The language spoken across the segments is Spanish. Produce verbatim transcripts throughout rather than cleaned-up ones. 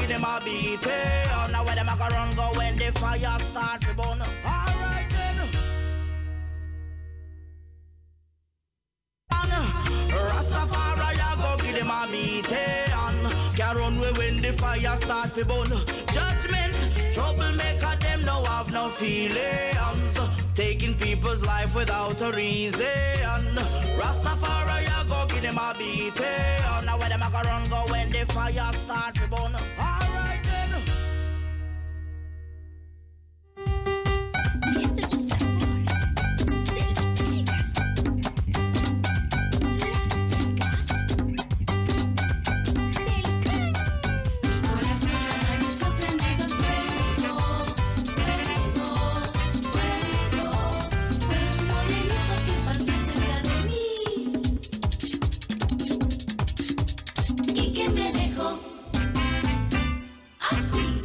give them a beat. Hey, now where them a go run go when the fire start to burn. Alright then. Rastafari I go give them a beat. Hey, can run away when the fire start to burn. Judgment, troublemaker, them no have no feelings. Taking people's life without a reason. Rastafari, I go give them a beat. Hey, now where them a go run go when the fire start to burn. Alright then. Este es el sabor de las chicas. Las chicas del clan. Mi corazón amaneció prendido en fuego, fuego, fuego. Fue un morenito que pasó cerca de mí y que me dejó así.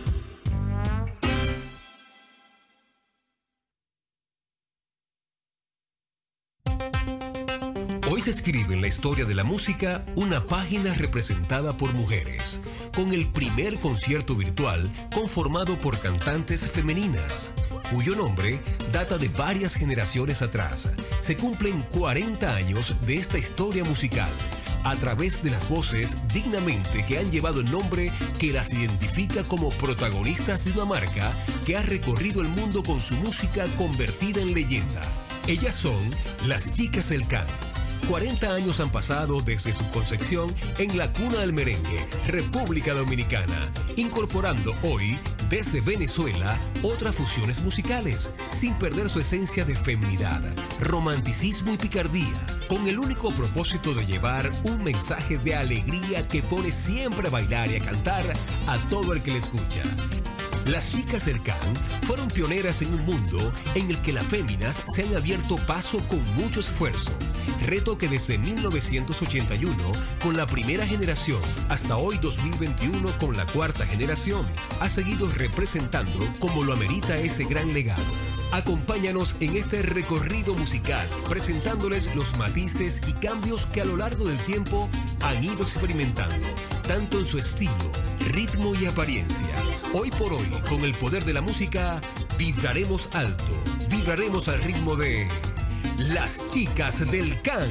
Hoy se escribe en la historia de la música una página representada por mujeres, con el primer concierto virtual conformado por cantantes femeninas, cuyo nombre data de varias generaciones atrás. Se cumplen cuarenta años de esta historia musical, a través de las voces dignamente que han llevado el nombre que las identifica como protagonistas de una marca que ha recorrido el mundo con su música convertida en leyenda. Ellas son las Chicas del Can. cuarenta años han pasado desde su concepción en la cuna del merengue, República Dominicana, incorporando hoy, desde Venezuela, otras fusiones musicales, sin perder su esencia de feminidad, romanticismo y picardía, con el único propósito de llevar un mensaje de alegría que pone siempre a bailar y a cantar a todo el que le escucha. Las Chicas del Can fueron pioneras en un mundo en el que las féminas se han abierto paso con mucho esfuerzo, reto que desde mil novecientos ochenta y uno con la primera generación hasta hoy dos mil veintiuno con la cuarta generación ha seguido representando como lo amerita ese gran legado. Acompáñanos en este recorrido musical, presentándoles los matices y cambios que a lo largo del tiempo han ido experimentando, tanto en su estilo, ritmo y apariencia. Hoy por hoy, con el poder de la música, vibraremos alto, vibraremos al ritmo de Las Chicas del Can.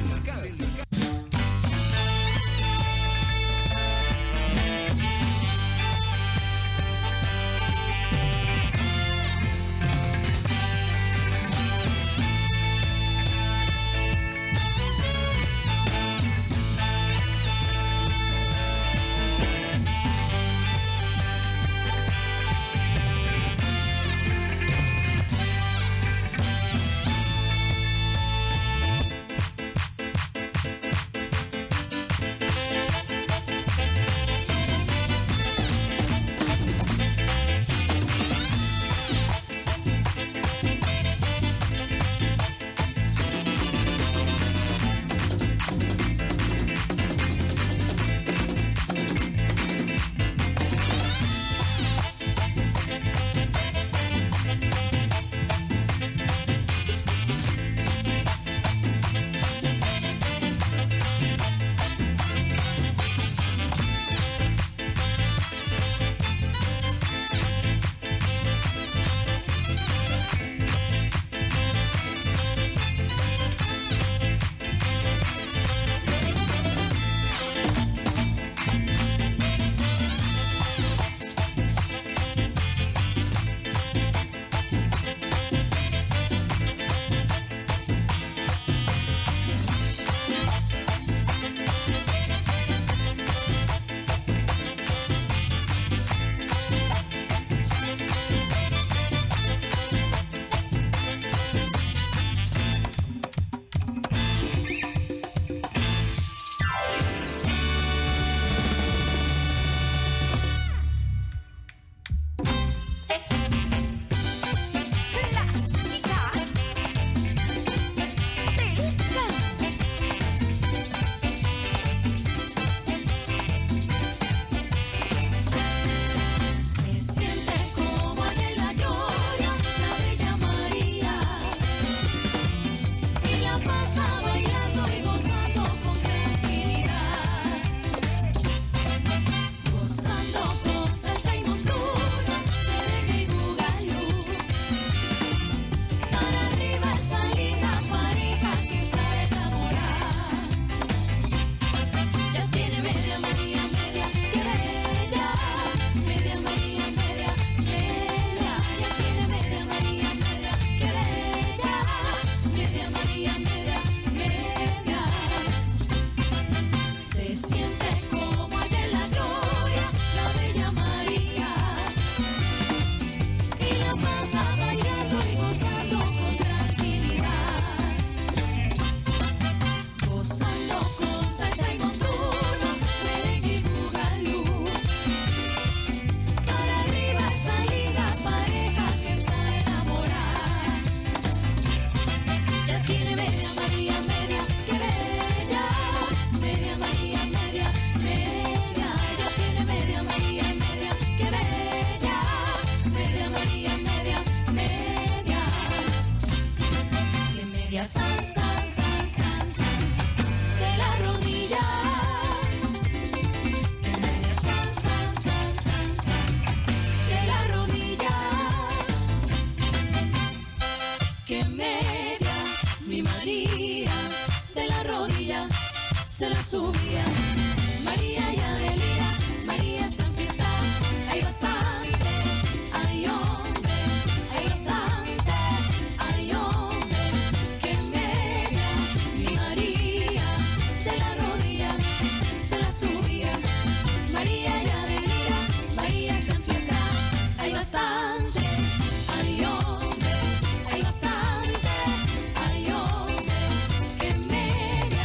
la subía. María ya delira, María está en fiesta. Hay bastante, hay hombre, hay bastante, hay hombre que media. Mi María de la rodilla se la subía. María ya delira, María está en fiesta. Hay bastante, hay hombre, hay bastante, hay hombre que media.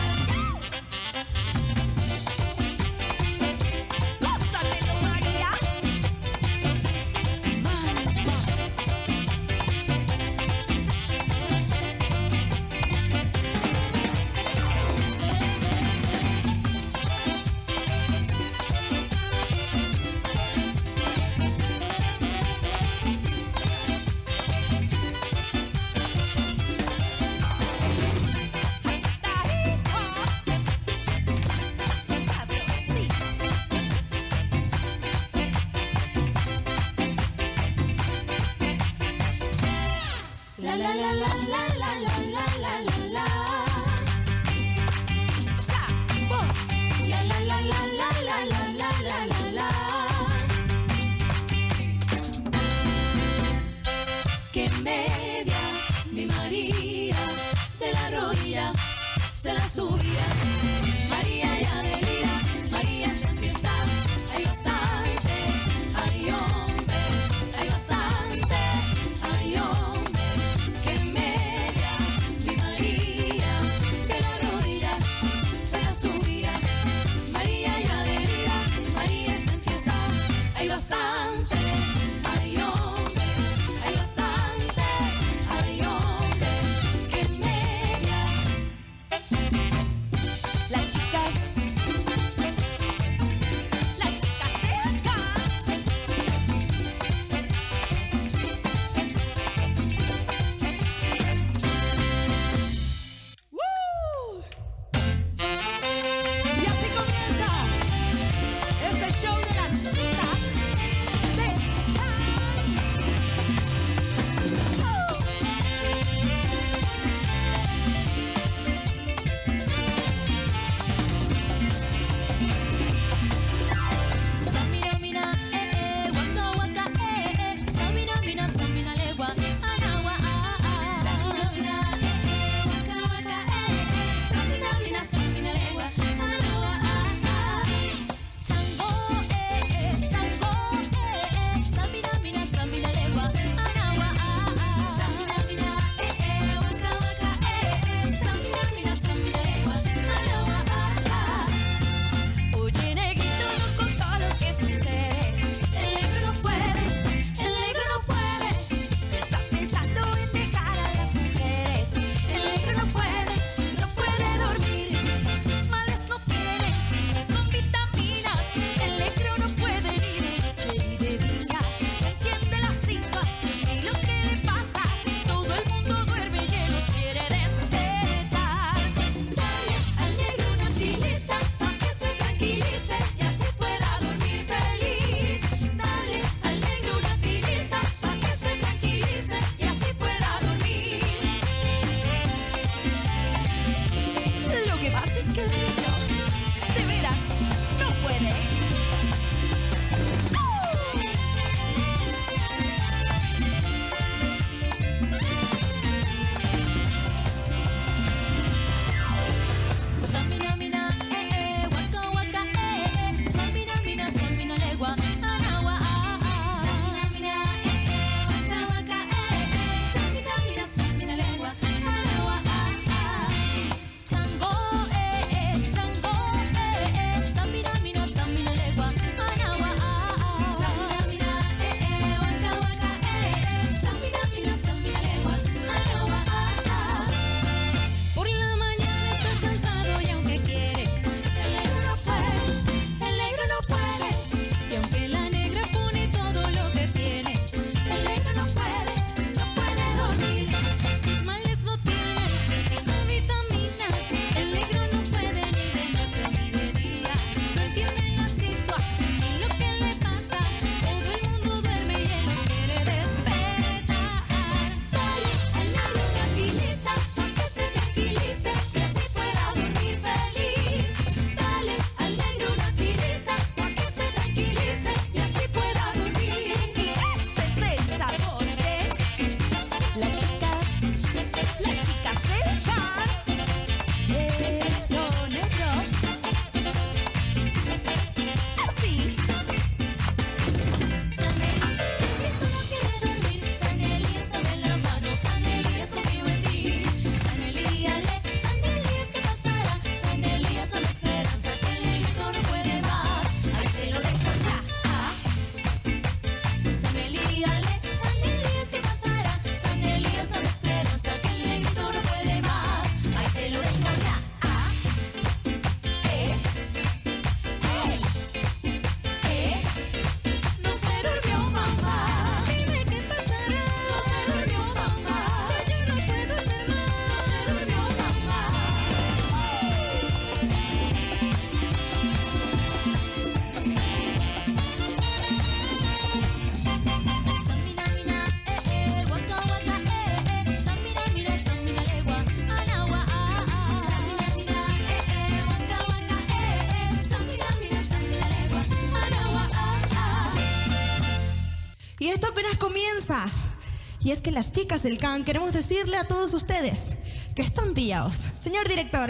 Gózatelo, María. Mamba. La la la la la la la la la la la. Sa-bo. La la la la la la la la la la la. Que media mi María de la rodilla se la subía. María ya delira, María está en fiesta. Hay bastante, hay hombre, hay bastante, hay hombre que media mi María de la rodilla se la subía. María ya delira, María está en fiesta. Hay bastante, hay hombre, hay bastante, hay hombre que media. Las chicas, las chicas de acá. ¡Woo! Y así comienza este show de las chicas de Y esto apenas comienza. Y es que las chicas del C A N queremos decirle a todos ustedes que están pillados. Señor director.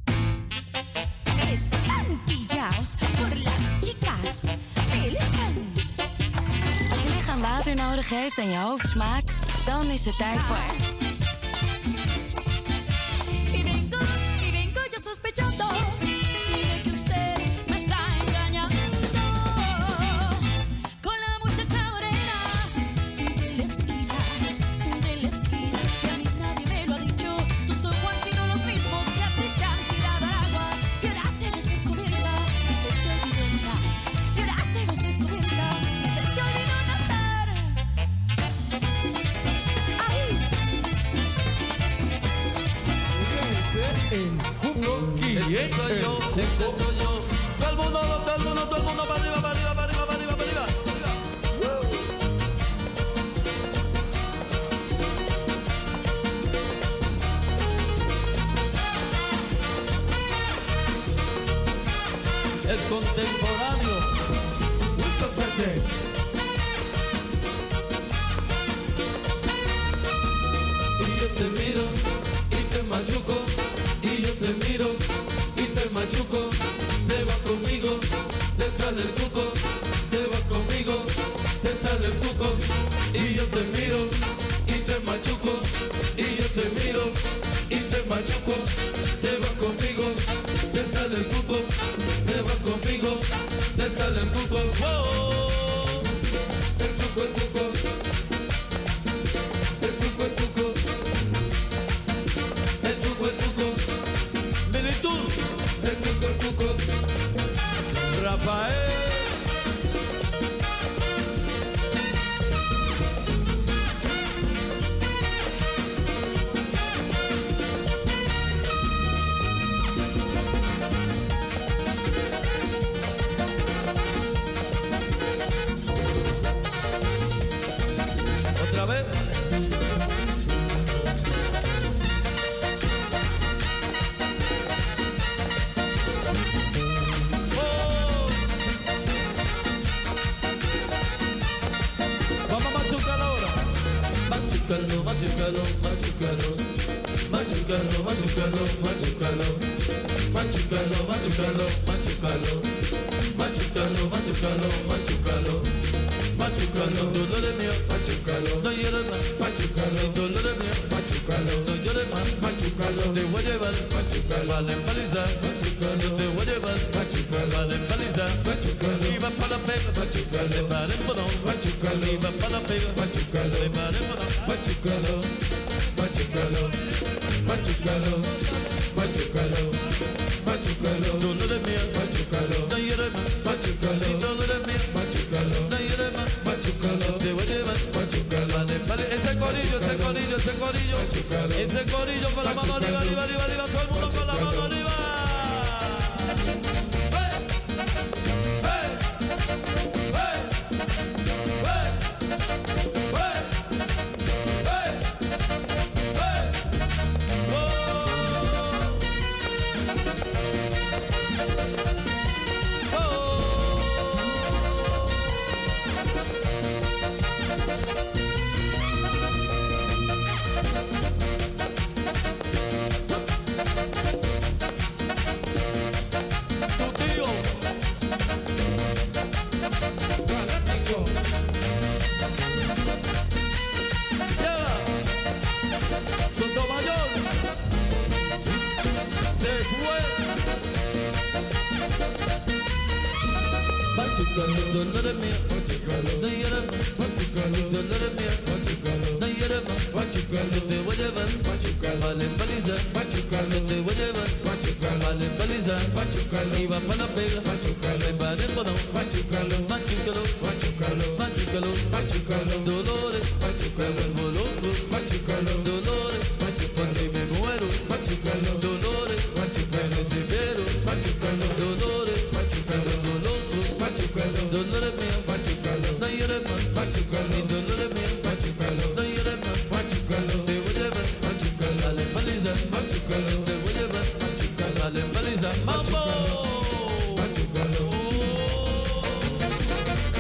Están pillados por las chicas del C A N. Als je lichaam water nodig heeft en je hoofd smaak, dan is het tijd voor... Y vengo, y vengo yo sospechando de que usted me está engañando con la muchacha morena de la esquina, de la esquina. Y a mí nadie me lo ha dicho. Tus ojos han sido los mismos que a ti te han tirado al agua. Y ahora te ves descubierta y se te olvidó nadar. Y ahora te ves descubierta y se te olvidó nadar. ¡Ay! El Cuco Quiñez, soy yo, ese soy yo. Todo el mundo, todo el mundo, todo el mundo para arriba, para arriba, para arriba, para arriba, para arriba. El contemporáneo. Wilson Sánchez. Y yo te miro y te machuco, y yo te miro y te machuco. Te vas conmigo, te sale el cuco. Te vas conmigo, te sale el cuco. Y yo te miro y te machuco, y yo te miro y te machuco. Te vas conmigo, te sale el cuco. Te vas conmigo, te sale el cuco. ¡Oh! El cuco, el cuco. El cuco, el cuco. El cuco, el cuco. Militud. El cuco, el cuco. Rafael. Otra vez. Oh. Vamos a machucarlo ahora. Machucarlo, machucarlo, machucarlo. Machucarlo, machucarlo, machucarlo. Machucarlo, machucarlo, machucarlo. Machucarlo, machucarlo, machucarlo. Machucarlo, dolores mío, machucarlo. No llores más, machucarlo. Dolores mío, machucarlo. No llores más, machucarlo. Te voy a llevar, machucarlo. Vale, empalizar, machucarlo. Te voy a llevar, machucarlo. Vale, empalizar, machucarlo. Iba para la pega, machucarlo. Le paré en bodón, machucarlo. Iba para la pega, machucarlo. Le paré en bodón, machucarlo. Machucarlo, machucarlo, machucarlo. Machucarlo, dolores mío, machucarlo. No llores más, machucarlo. Dolores mío, machucarlo. No llores más, machucarlo. Te voy a llevar, machucarlo. Vale, vale. Ese corillo, ese corillo, ese corillo. Ese corillo con la mano arriba, arriba, arriba, arriba. Todo el mundo con la mano arriba. Dolores mías, no llores más, dolores mías, no llores más, te voy a llevar, vale empalizar, te voy a llevar, vale empalizar, iba para la pega, me paré en bodón, machucalo, machucalo, machucalo, dolores, me vuelvo loco, dolores, cuando me muero, dolores, me desespero, dolores, me vuelvo loco, dolores mías, no llores más, y dolores mías, no llores más, te voy a llevar, dale paliza, te voy a llevar, dale paliza, mambo.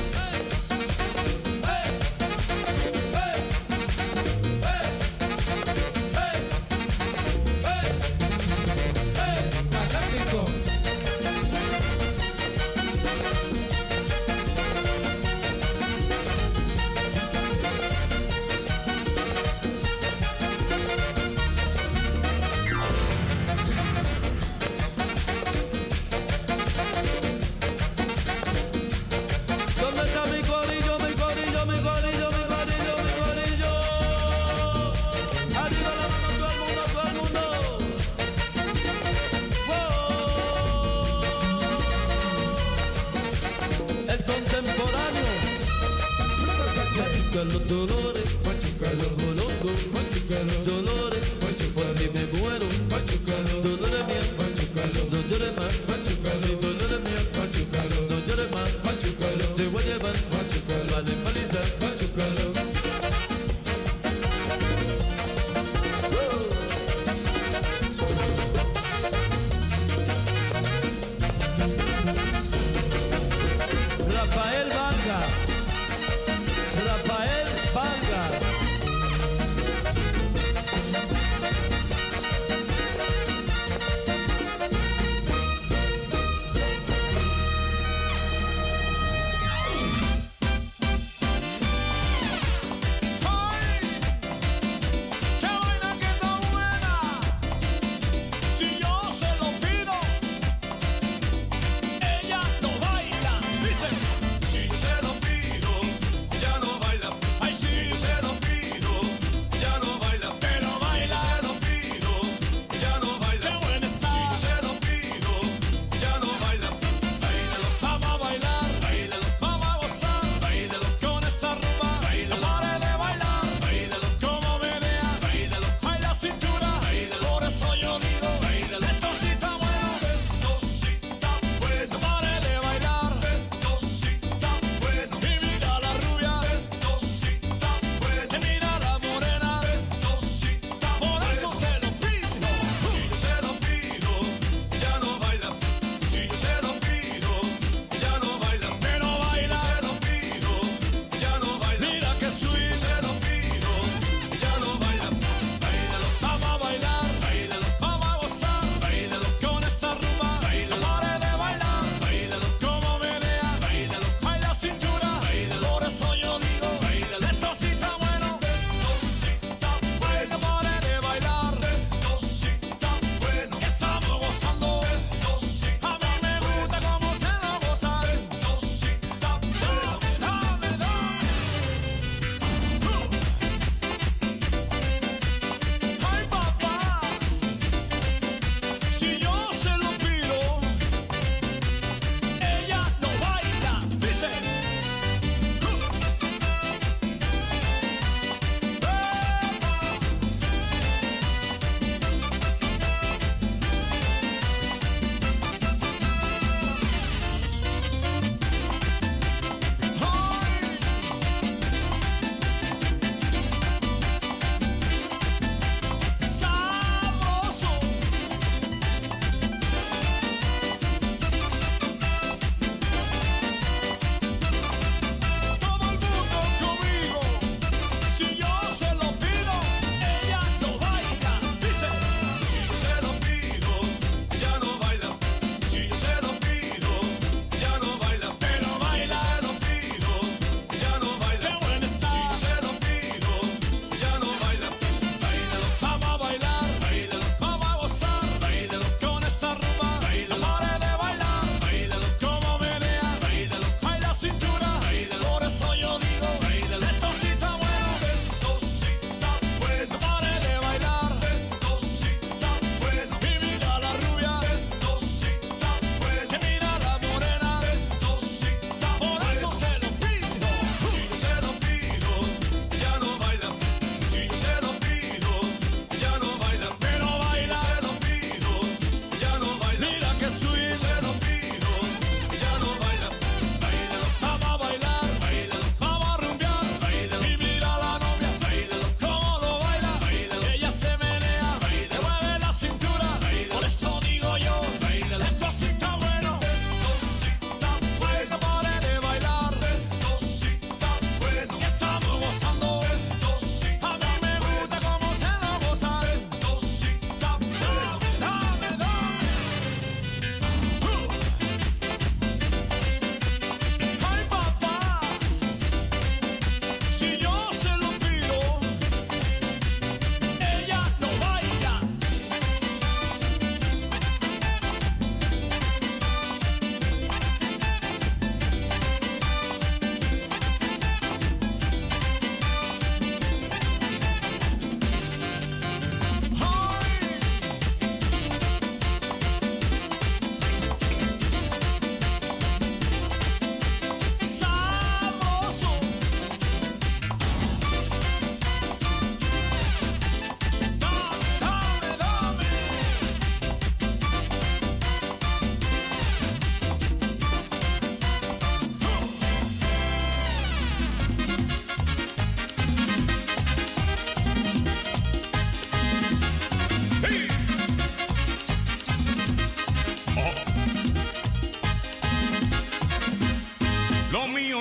machucalo, Dolores, machucalo, Bolongo, machucalo, Dolores, machucalo, me muero, machucalo, Dolores mía, machucalo, Dolores más, machucalo, Dolores mía, machucalo, Dolores más, machucalo, te voy a llevar, machucalo, vale, paliza, machucalo. Rafael Vanga, Rafael Vanga.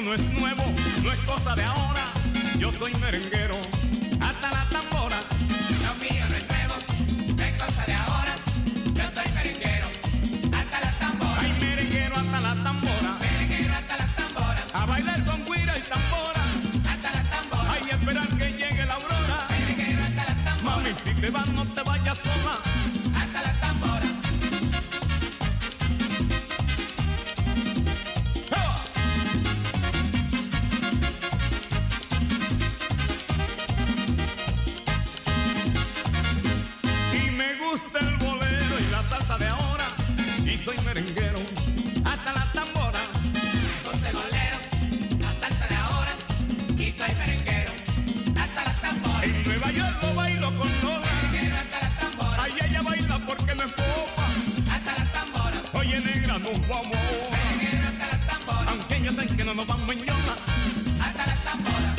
no es nuevo, no es cosa de ahora. Yo soy merenguero, hasta la tambora. Lo mío no es nuevo, no es cosa de ahora. Yo soy merenguero, hasta la tambora. Ay, merenguero hasta la tambora. Merenguero hasta la tambora. A bailar con guira y tambora. Hasta la tambora. Ay, esperar que llegue la aurora. Merenguero hasta la tambora. Mami, si te vas no te vayas sola. Hasta la tambora. El bolero y la salsa de ahora, y soy merenguero hasta la tambora. Me gusta el bolero, la salsa de ahora, y soy merenguero hasta la tambora. En Nueva York lo bailo con Lola. Merenguero hasta la tambora. Ay, ella baila porque me popa. Hasta la tambora. Oye, negra, nos vamos. Merenguero hasta la tambora. Aunque ellos saben que no nos vamos en yola. Hasta la tambora.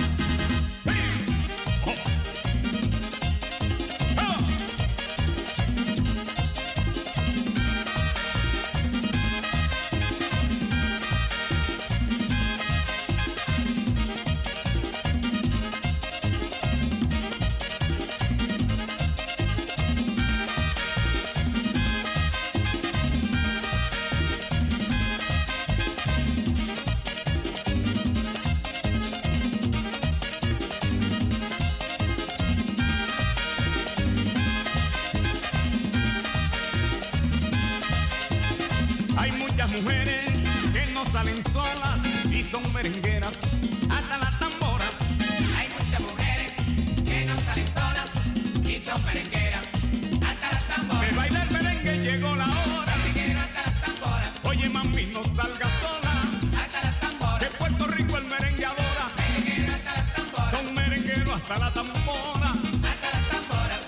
Mujeres que no salen solas y son merengueras hasta la tambora. Hay muchas mujeres que no salen solas y son merengueras hasta la tambora. De bailar merengue llegó la hora. Merenguero hasta la tambora. Oye, mami, no salgas sola. Hasta la tambora. De Puerto Rico el merengue adora. Merenguero hasta la tambora. Son merengueros hasta la tambora. Hasta la tambora.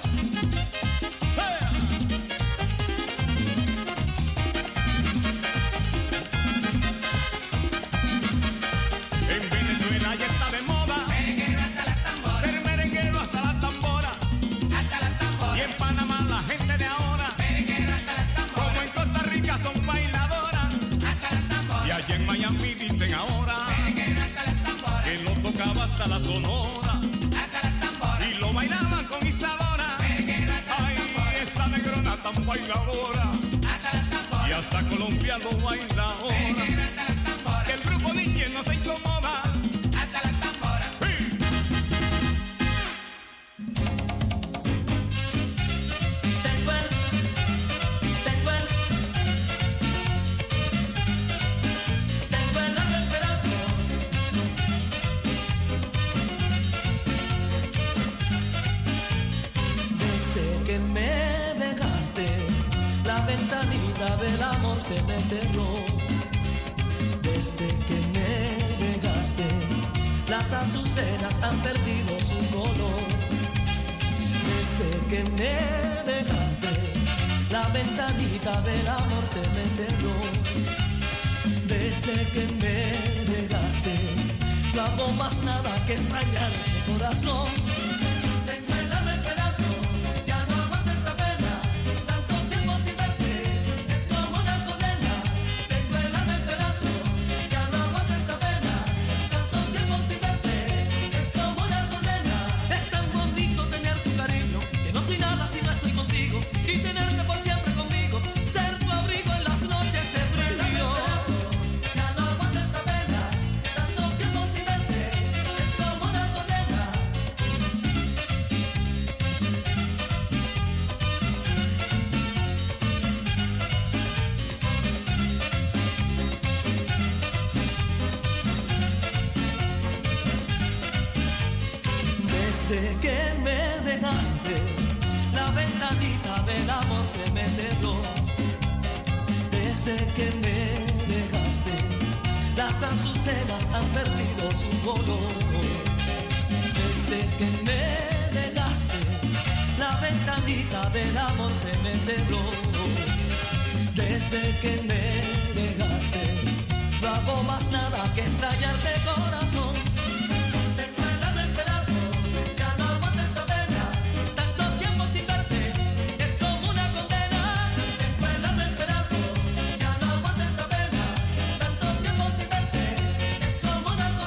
Ya está de moda. Merenguero hasta la tambora. Ser merenguero hasta la tambora. Hasta la tambora. Y en Panamá la gente de ahora. Merenguero hasta la tambora. Como en Costa Rica son bailadoras. Hasta la tambora. Y allá en Miami dicen ahora. Merenguero hasta la tambora. Que lo tocaba hasta la sonora. Hasta la tambora. Y lo bailaban con Isadora. Merenguero hasta Ay, la tambora. esa negrona tan bailadora. Hasta la tambora. Y hasta Colombia lo baila ahora. Merenguero hasta la tambora. Que el grupo D J no se incomoda. Hasta la tambora. Tengo el, tengo el, tengo el alma en pedazos. Desde que me dejaste, la ventanita del amor se me cerró. Desde que me dejaste, las azucenas han perdido su color. Desde que me dejaste, la ventanita del amor se me cerró. Desde que me dejaste, no hago más nada que extrañarte, corazón. Tengo el alma en pedazos, ya no aguanto esta pena. Tanto tiempo sin verte, es como una condena. Tengo el alma en pedazos, ya no aguanto esta pena. Tanto tiempo sin verte, es como una condena. Es tan bonito tener tu cariño, que no soy nada si no estoy contigo. Y tenerte por siempre conmigo, ser tu abrigo en las noches de frío. Ya no aguanto esta pena, tanto tiempo sin verte, es como una condena. Desde que me dejaste, la ventanita del amor se me cerró. Desde que me dejaste, las azucenas han perdido su color. Desde que me dejaste, la ventanita del amor se me cerró. Desde que me dejaste, no hago más nada que extrañarte, corazón. Tengo el alma en pedazos, ya no aguanto esta pena. Tanto tiempo sin verte, es como una condena. Tengo el alma en pedazos, ya no aguanto esta pena. Tanto tiempo sin verte, es como una condena.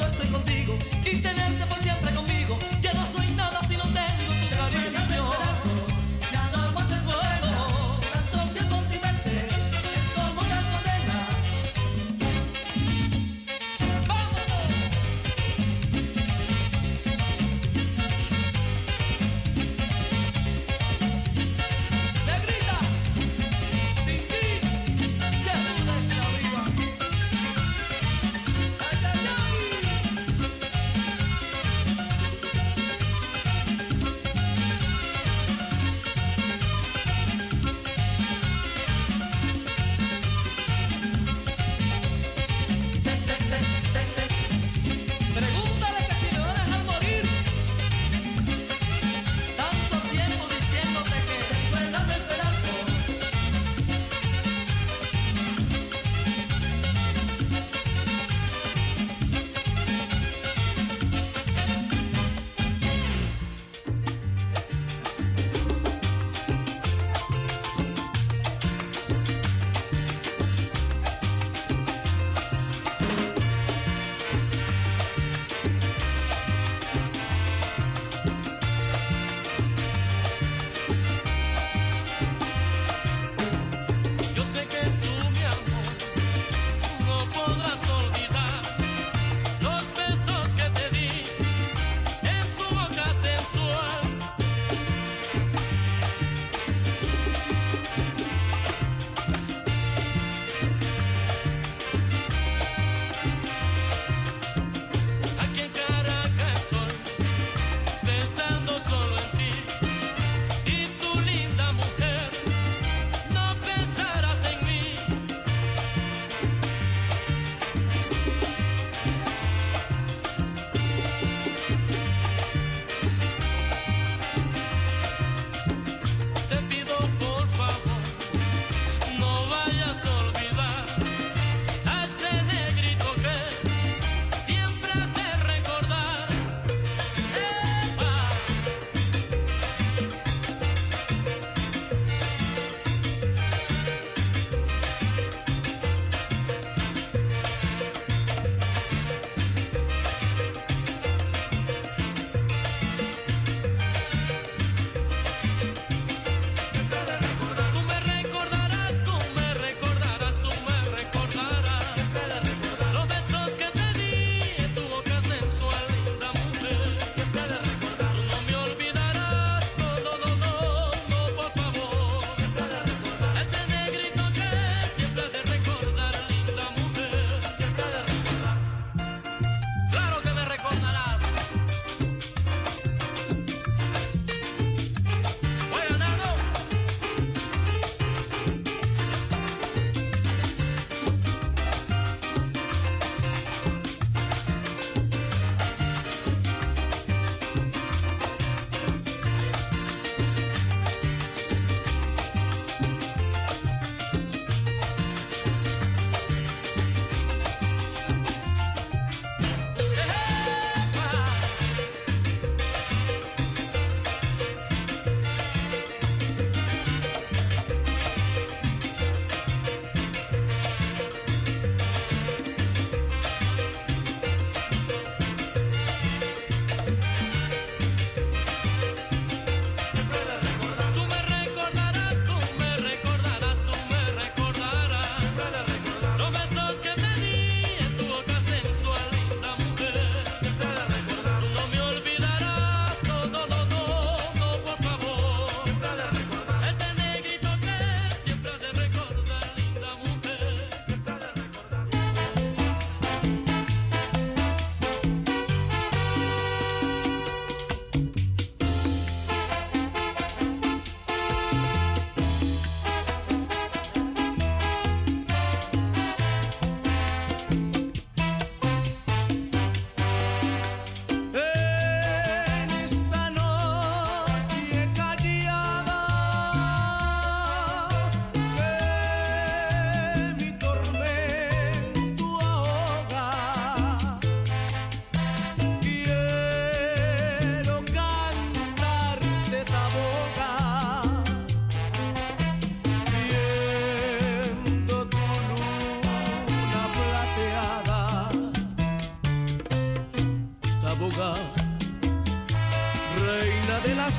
no estoy contigo y tenerte por siempre conmigo. Ya no soy nada si no tengo tu cariño. Ya no aguantes vuelo, tanto tiempo sin verte es como una condena. ¡Vámonos! Negrita, sin ti, ya no es la vida. Ay, ay, ay. Taboga, reina de las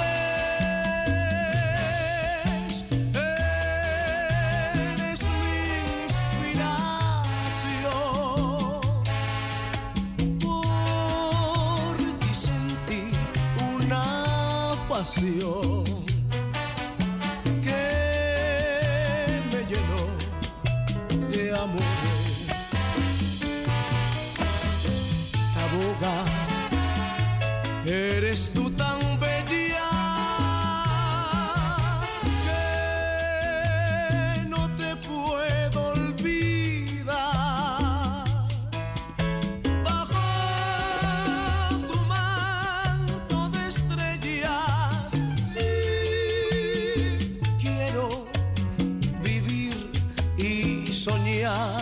flores, eres mi inspiración. Por ti sentí una pasión que me llenó de amores. Taboga, eres tú tan bella que no te puedo olvidar. Bajo tu manto de estrellas, sí, quiero vivir y soñar.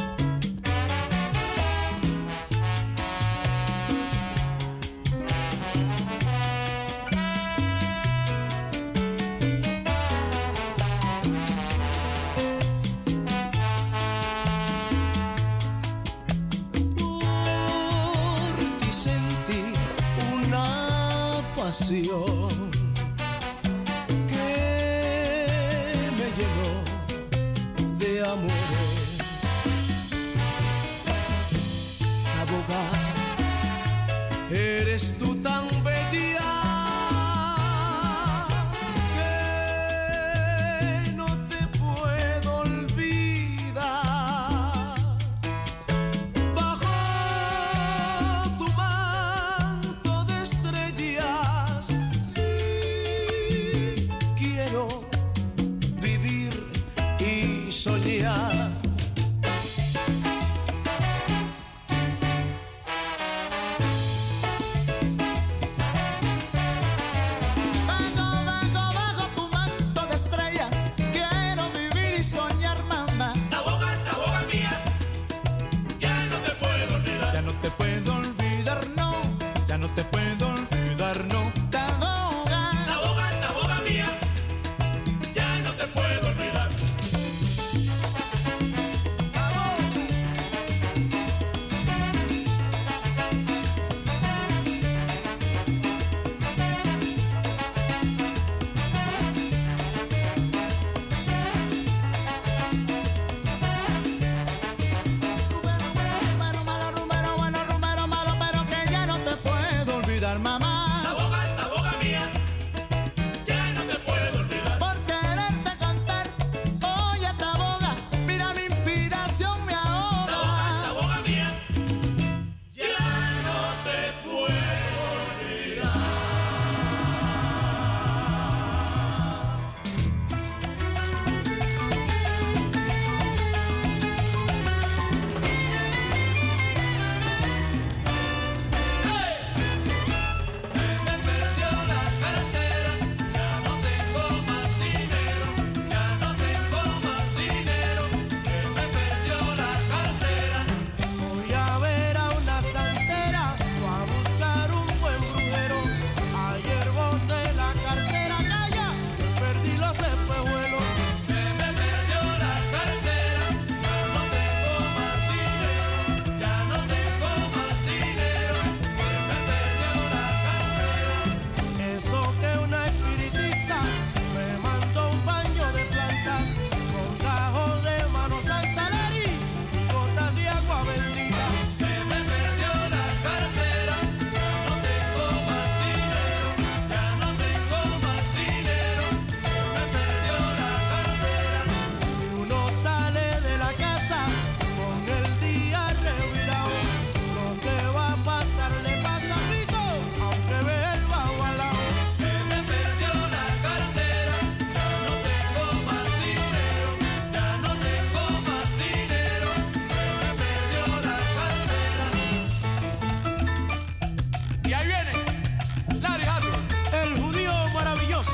Que me llenó de amores. Taboga, eres tú tan bella que no te puedo olvidar. Bajo tu manto de estrellas, vivir y soñar. Bajo, bajo, bajo tu manto de estrellas, quiero vivir y soñar, mamá. Taboga, taboga mía, ya no te puedo olvidar. Ya no te puedo olvidar, no. Ya no te puedo olvidar, no. Taboga, taboga, taboga mía, ya no te puedo olvidar. Rumero malo, rumero bueno, rumero malo, pero que ya no te puedo olvidar, mamá. Taboga, taboga mía, ya no te puedo olvidar. Por quererte cantar, oye taboga, mira mi inspiración me ahoga. Taboga, taboga mía, ya no te puedo olvidar. Se me perdió la cartera, ya no tengo más dinero, ya no tengo más dinero. Se me perdió la cartera. Voy a ver a una santera o a buscar un buen brujero. Ayer boté la cartera, calla, perdí los espejuelos. Se me perdió la cartera, ya no tengo más dinero, ya no tengo más dinero. Se me perdió la cartera. Eso que una espiritista me mandó un baño de plantas con cajón de mano santa Lari y gotas de agua bendita. Se me perdió la cartera, ya no tengo más dinero, ya no tengo más dinero. Se me perdió la cartera. Si uno sale de la casa con el día revirado, lo que va a pasar le pasa a Rico, aunque ve el bajo al lado. Se me perdió la cartera, ya no tengo más dinero, ya no tengo más dinero. Se me perdió la cartera. Y ahí viene Larry Harlow. El judío maravilloso.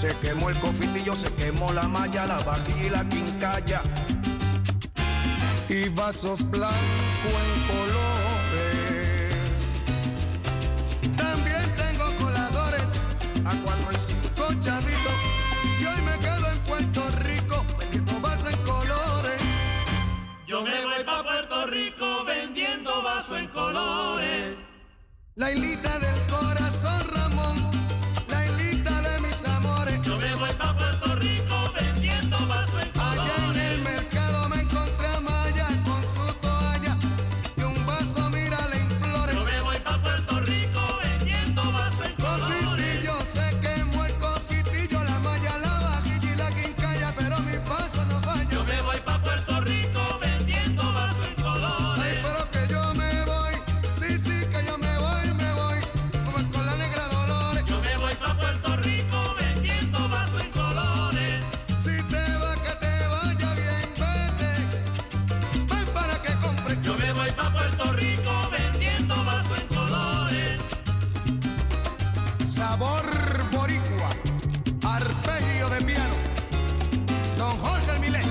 Se quemó el cofitillo, se quemó la malla, la vajilla y la quincalla. Y vasos blancos en colores. También tengo coladores a cuatro y cinco chavitos. Y hoy me quedo en Puerto Rico vendiendo vasos en colores. Yo me voy pa' Puerto Rico vendiendo vasos en colores. La hilita del corazón, Ramón. La hilita de mis amores. Yo me voy pa' Puerto Rico vendiendo vasos en colores. Allá en el mercado me encontré a Maya con su toalla y un vaso, mira, le implore. Yo me voy pa' Puerto Rico vendiendo vasos en colores. Cofitillo, se quemó el cofitillo, la malla, la vajilla y la quincalla, pero mi paso no falla. Yo me voy pa' Puerto Rico vendiendo vasos en colores. Ay, pero que yo me voy, sí, sí, que yo me voy, me voy, como con la negra Dolores. Yo me voy pa' Puerto Rico vendiendo vasos en colores. Si te va, que te vaya bien, vete, ven para que compre. Yo me voy pa' Puerto Rico vendiendo vasos en colores. Sabor boricua, arpegio de piano, Don Jorge el Milet.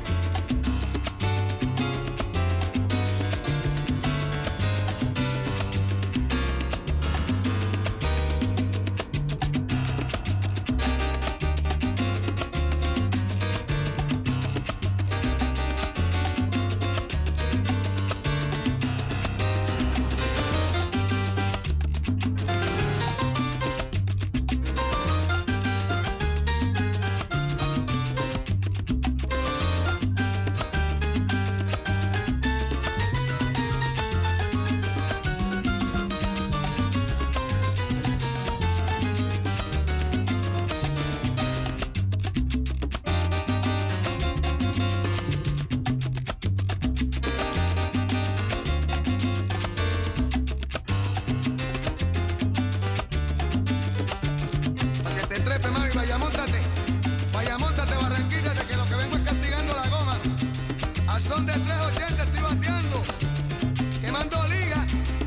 Para que te trepe, mami, vaya, móntate. Vaya, móntate, Barranquilla, que lo que vengo es castigando la goma. Al son de tres ochenta estoy bateando, quemando liga.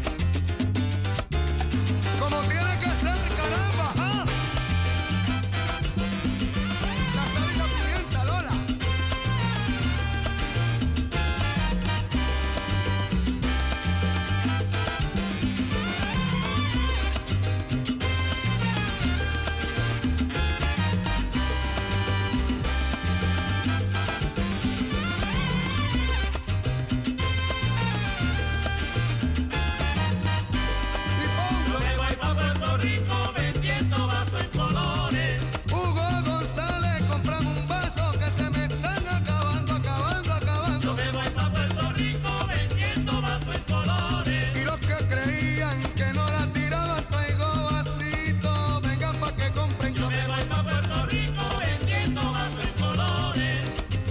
Como tiene que ser, caramba, ¿ah? La sal y la pimienta, Lola. Yo me voy pa' Puerto Rico vendiendo vasos en colores. Hugo González, comprame un vaso que se me están acabando, acabando, acabando. Yo me voy pa' Puerto Rico vendiendo vasos en colores. Y los que creían que no la tiraban, traigo vasito, vengan pa' que compren. Yo me voy pa' Puerto Rico vendiendo vasos en colores.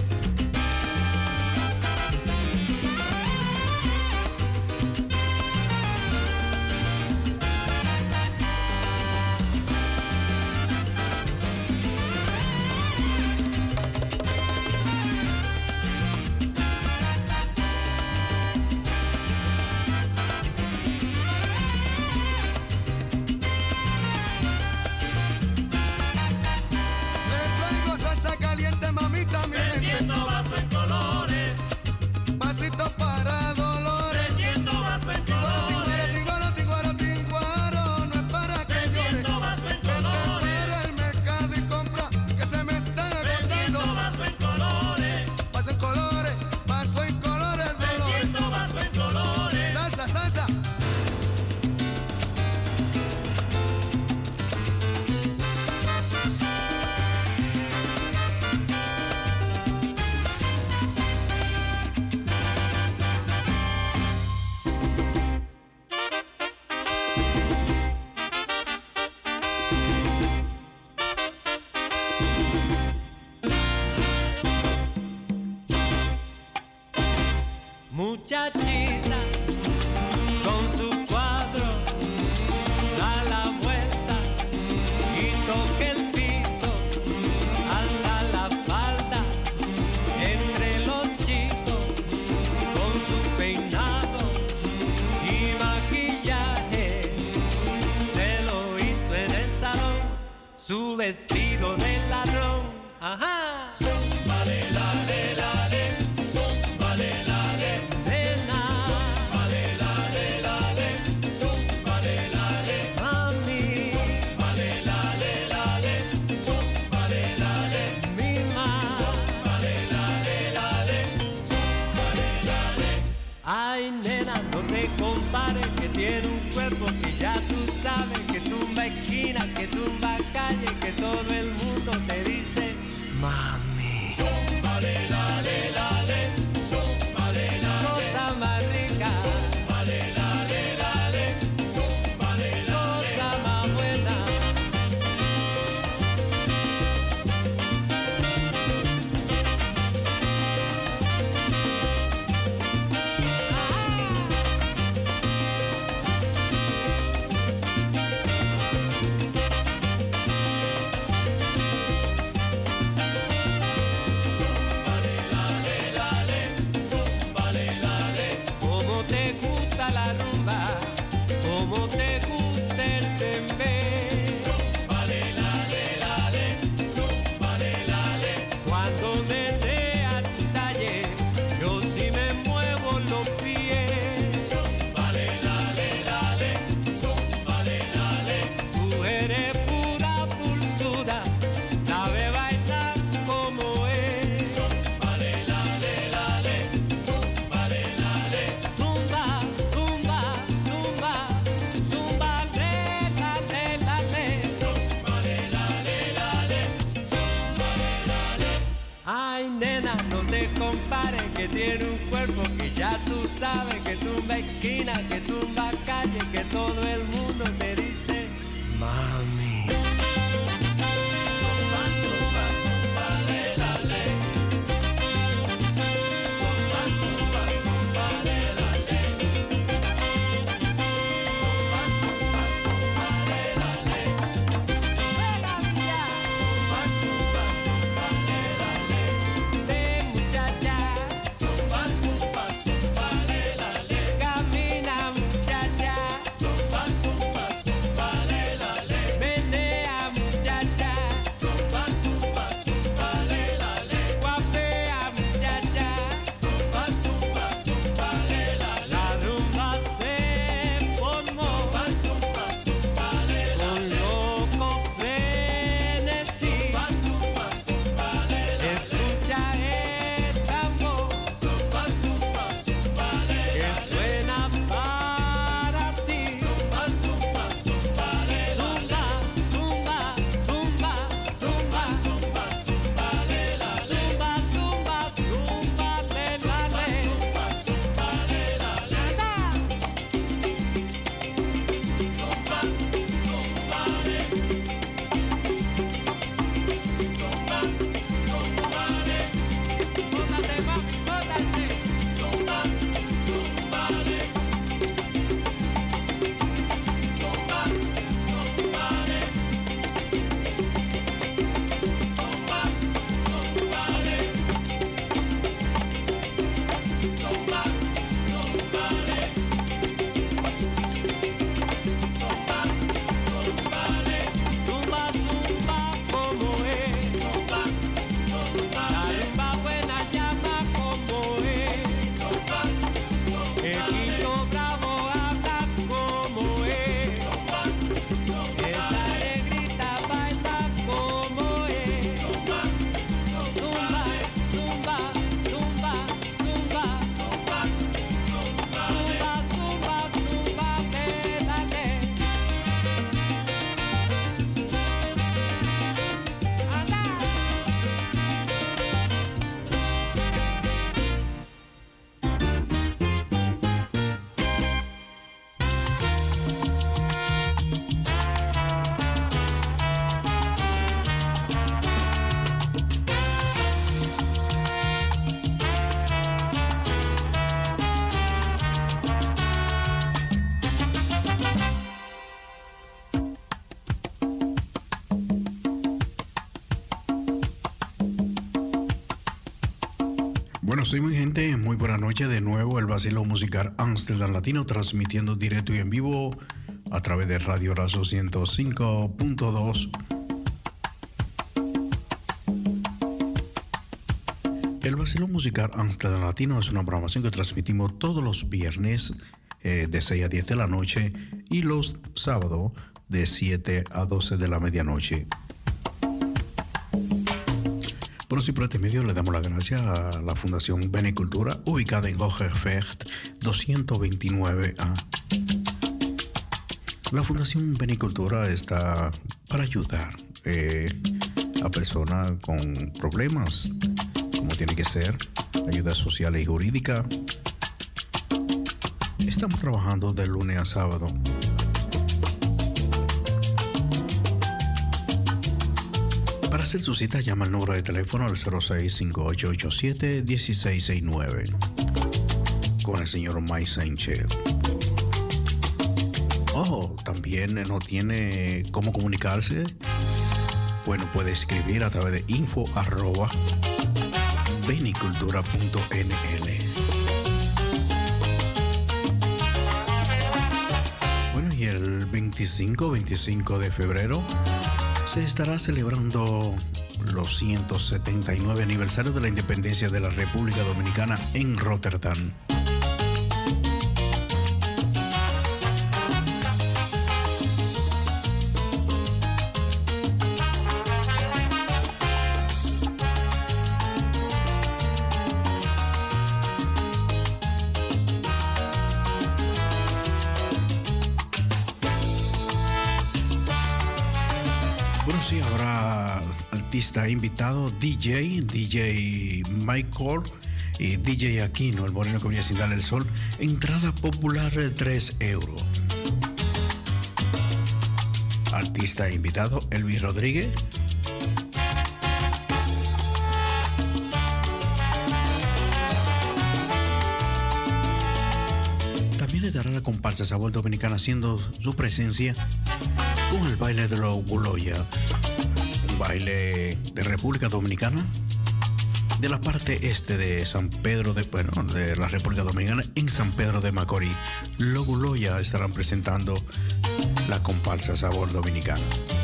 Les traigo salsa caliente, mamita, mi gente. Vendiendo vasos en colores. Vasito para Dolores. Vendiendo vasos en Tinguaro, colores. tinguaro, tinguaro, tinguaro, no es para que llore. Vendiendo vasos en Vete colores. para el mercado y compra, que se me están Vendiendo agotando. vasos en colores. Paso en colores, paso en colores, Dolores. Vendiendo vasos en colores. Salsa, salsa. Muchachita con su cuadro da la vuelta y toca el piso, alza la falda entre los chicos con su peinado y maquillaje. Se lo hizo en el salón, su vestido de ajá. Zumba le la le la le, zumba le la le, Nena, zumba le la le la le, zumba le la le, mami, zumba le la le la le, zumba le la le, mima, zumba le la le la le, zumba le la le. ay nena, no te compares, que tiene un cuerpo que ya tú sabes, que tumba esquina, que tumba calle, que todo el mundo te dice, mami. Zumba le la le la le, zumba le la le, Cosa más rica, zumba le la le la le, zumba le la le. cosa más buena. Cómo te gusta la rumba, cómo te gusta el bembé. Zumba le la le la le, zumba le la le. Cuando me dé a tu talle, yo sí me muevo los pies. Zumba le la le la le, zumba le la le. Tú eres pura dulzura, sabe bailar como es. Zumba le la le la le, zumba le la le. Zumba, zumba, zumba, zumba, le, la, le, la, le. Zumba le la le la le, zumba le la le. Ay, nena, no te compares, que tiene un cuerpo que ya tú sabes, que tumba esquina, que tumba calle, que todo el mundo te dice, mami. Zumba, zumba, zumba le la le. Zumba, zumba, zumba le la le. Zumba, zumba, zumba le la le. Juega, mía, Zumba, zumba, zumba le la le. de muchacha, Zumba, zumba, zumba le la le. camina muchacha, Zumba, zumba, zumba le la le. menea muchacha, Zumba, zumba, zumba le la le. guapea muchacha, Zumba, zumba, zumba le la le. la rumba se formó Zumba, zumba, zumba le la con le. loco frenesí. Zumba, zumba, zumba le la le. Escucha el tambor Zumba, zumba, zumba le que la le. suena para ti. Zumba, zumba, zumba le la le. Zumba, zumba, zumba, zumba, Zumba, zumba le la le. zumba, zumba, zumba, le, la, le. Zumba, zumba le la le. Anda. Zumba, zumba le. Zumba, zumba le. Bótate, mami, bótate. Zumba, zumba le. Zumba, zumba le. Zumba, zumba le. Zumba, zumba le. Zumba, zumba le. Zumba, zumba, como es. Zumba, zumba La le. rumba buena llama como es. Zumba, zumba El le. Quito Bravo habla como es. Zumba, zumba Esa le. negrita baila como es. Zumba, Zumba, zumba, zumba, zumba, zumba, zumba le. zumba, zumba, zumba, le, la, le. Anda. Bueno, soy muy gente, muy buena noche de nuevo, el vacilo musical Amsterdam Latino, transmitiendo directo y en vivo a través de Radio Razo ciento cinco punto dos El vacilón musical Amsterdam Latino es una programación que transmitimos todos los viernes eh, de seis a diez de la noche y los sábados de siete a doce de la medianoche. Bueno, sí, por este medio le damos las gracias a la Fundación Benicultura, ubicada en Hogevecht doscientos veintinueve A. La Fundación Benicultura está para ayudar eh, a personas con problemas, como tiene que ser, ayuda social y jurídica. Estamos trabajando de lunes a sábado. Para hacer su cita, llama al número de teléfono al cero seis cinco ocho ocho siete uno seis seis nueve con el señor Mike Sánchez. Oh, también no tiene cómo comunicarse. Bueno, puede escribir a través de info arroba benicultura punto n l. Bueno, y el veinticinco, veinticinco de febrero se estará celebrando los ciento setenta y nueve aniversarios de la independencia de la República Dominicana en Rotterdam. Artista invitado, D J, D J Michael y D J Aquino, el moreno que venía sin darle el sol. Entrada popular de tres euros. Artista invitado, Elvis Rodríguez. También estará la comparsa Sabor Dominicana haciendo su presencia con el baile de los Guloya. Baile de República Dominicana, de la parte este de San Pedro de, bueno, de la República Dominicana, en San Pedro de Macorís. Los Guloya estarán presentando la comparsa Sabor Dominicana.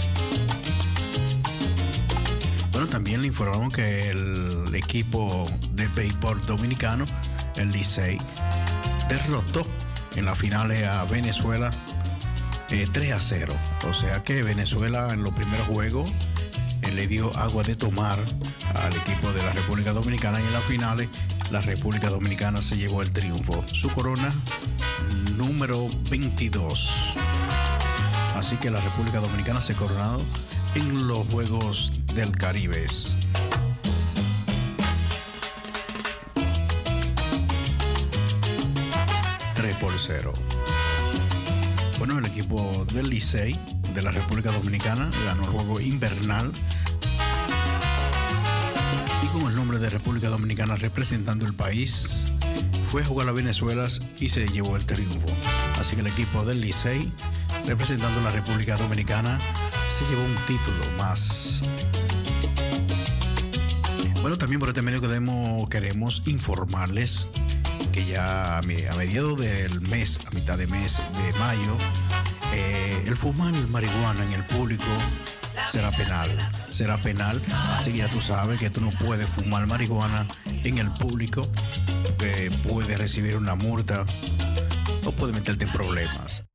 Bueno, también le informamos que el equipo de béisbol dominicano, el Licey, derrotó en la final a Venezuela eh, tres a cero. O sea que Venezuela en los primeros juegos le dio agua de tomar al equipo de la República Dominicana y en las finales la República Dominicana se llevó el triunfo, su corona número veintidós. Así que la República Dominicana se coronó en los Juegos del Caribe. tres por cero. Bueno, el equipo del Licey de la República Dominicana ganó el juego invernal y con el nombre de República Dominicana representando el país fue a jugar a Venezuela y se llevó el triunfo. Así que el equipo del Licey representando a la República Dominicana se llevó un título más. Bueno, también por este medio queremos, queremos informarles que ya a mediados del mes, a mitad de mes de mayo, eh, el fumar marihuana en el público será penal. Será penal, así que ya tú sabes que tú no puedes fumar marihuana en el público, que puedes recibir una multa o puedes meterte en problemas.